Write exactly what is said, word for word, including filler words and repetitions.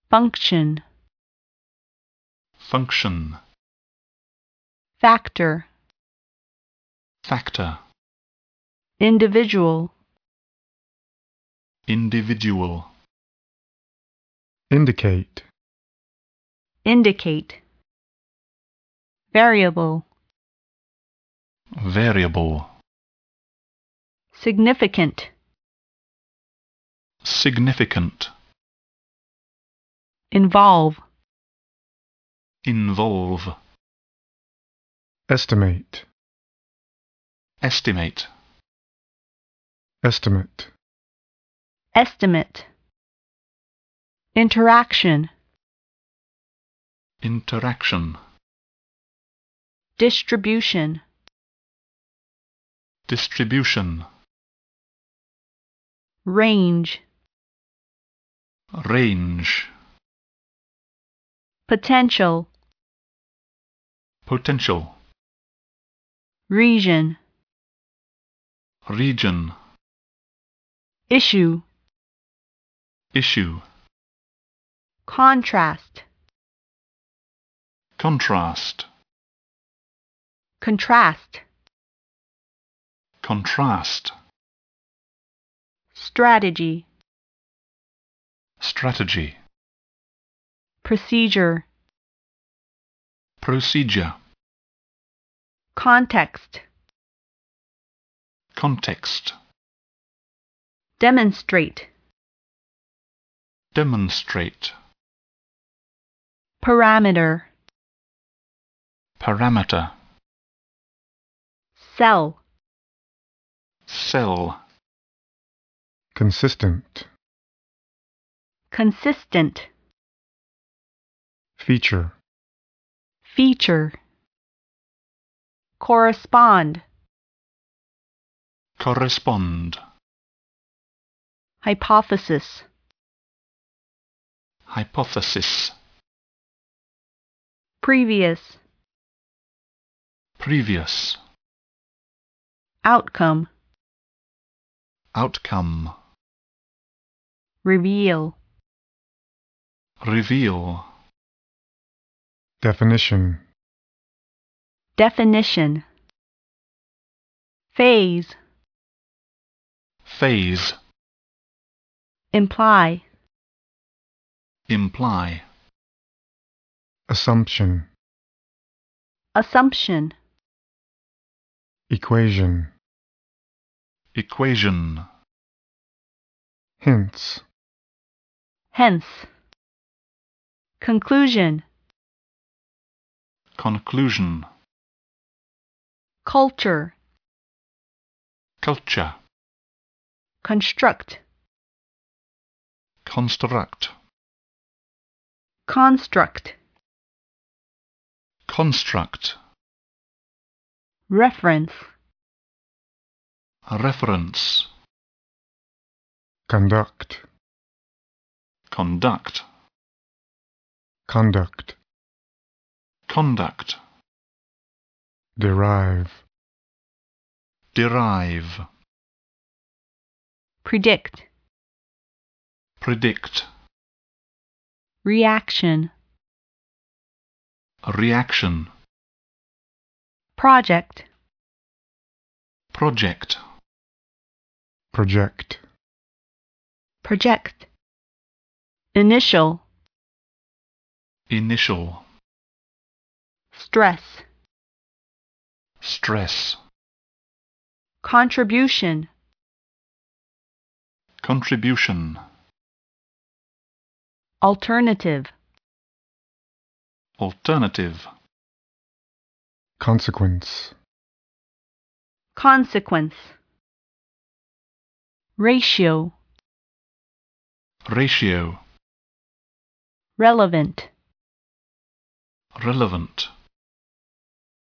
function, function, factor, factor, individual, individual, indicate, indicate, variable, variable, significant, significant, involve, involve, estimate, estimate, estimate, estimate, interaction, interaction, distribution, distribution, range, range, potential, potential, region, region, issue, issue, contrast, contrast, contrast, contrast, strategy, strategy, procedure, procedure, context, context, demonstrate, demonstrate, parameter, parameter, cell, cell, consistent, consistent, feature, feature, correspond, correspond, hypothesis, hypothesis, previous, previous, outcome, outcome, reveal, reveal, definition, definition, phase, phase, imply, imply, assumption, assumption, equation, equation, hints, hence, conclusion, conclusion, culture, culture, construct, construct, construct, construct, reference, reference, conduct, conduct, conduct, conduct, derive, derive, predict, predict, reaction, reaction, project, project, project, project, initial, initial, stress, stress, contribution, contribution, alternative, alternative, consequence, consequence, ratio, ratio, relevant, relevant,